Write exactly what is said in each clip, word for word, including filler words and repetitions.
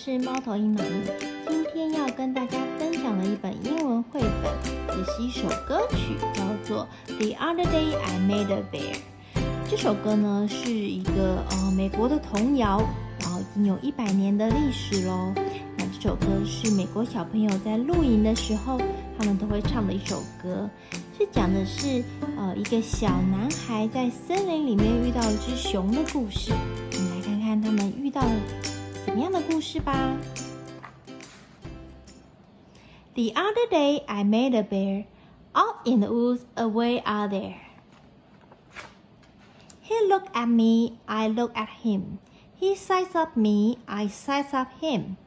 是猫头鹰妈咪，今天要跟大家分享的一本英文绘本，也是一首歌曲，叫做《The Other Day I Made a Bear》。这首歌呢是一个呃美国的童谣，然后已经有一百年的历史咯。那这首歌是美国小朋友在露营的时候，他们都会唱的一首歌，是讲的是呃一个小男孩在森林里面遇到一只熊的故事。我们来看看他们遇到了怎么样的故事吧。The other day I made a bear, out in the woods away out there. He looked at me, I looked at him. He sized up me, I sized up him.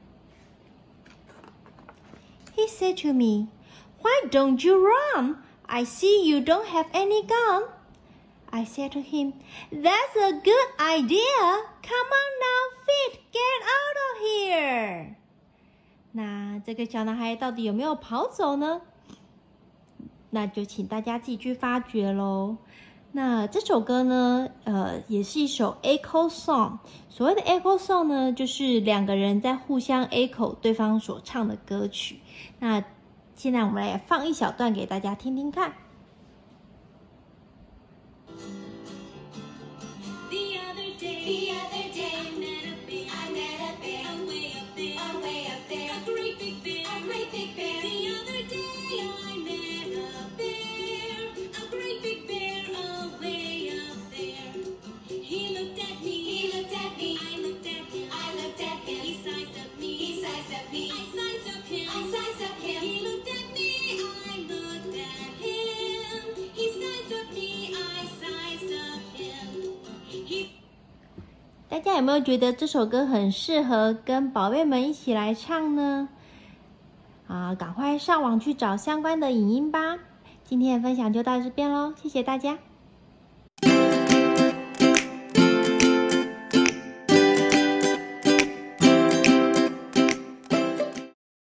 He said to me, "Why don't you run? I see you don't have any gun." I said to him, "That's a good idea. Come on now, Fit, get out of here." 那这个小男孩到底有没有跑走呢？那就请大家自己去发掘咯。那这首歌呢，呃，也是一首 echo song。所谓的 echo song 呢，就是两个人在互相 echo 对方所唱的歌曲。那现在我们来放一小段给大家听听看。大家有没有觉得这首歌很适合跟宝贝们一起来唱呢？啊，赶快上网去找相关的影音吧。今天的分享就到这边咯，谢谢大家。